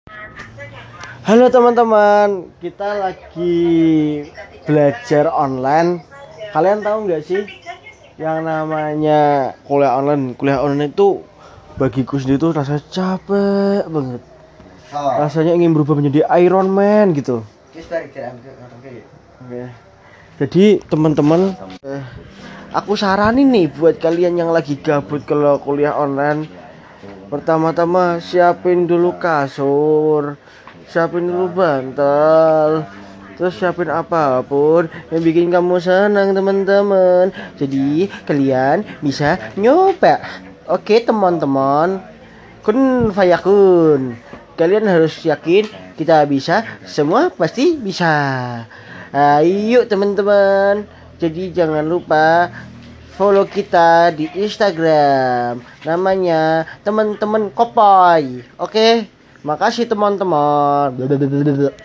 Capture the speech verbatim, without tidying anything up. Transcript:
Halo teman-teman, kita lagi belajar online. Kalian tahu nggak sih yang namanya kuliah online? Kuliah online itu bagiku sendiri tuh rasanya capek banget. Rasanya ingin berubah menjadi Iron Man gitu. Oke. Jadi teman-teman, eh, aku saranin nih buat kalian yang lagi gabut kalau kuliah online. Pertama-tama siapin dulu kasur, siapin dulu bantal, terus siapin apapun yang bikin kamu senang teman-teman. Jadi kalian bisa nyoba. Oke teman-teman, kun fayakun. Kalian harus yakin kita bisa, semua pasti bisa. Ayo teman-teman. Jadi jangan lupa follow kita di Instagram, namanya teman-teman Kopai. Oke, makasih teman-teman.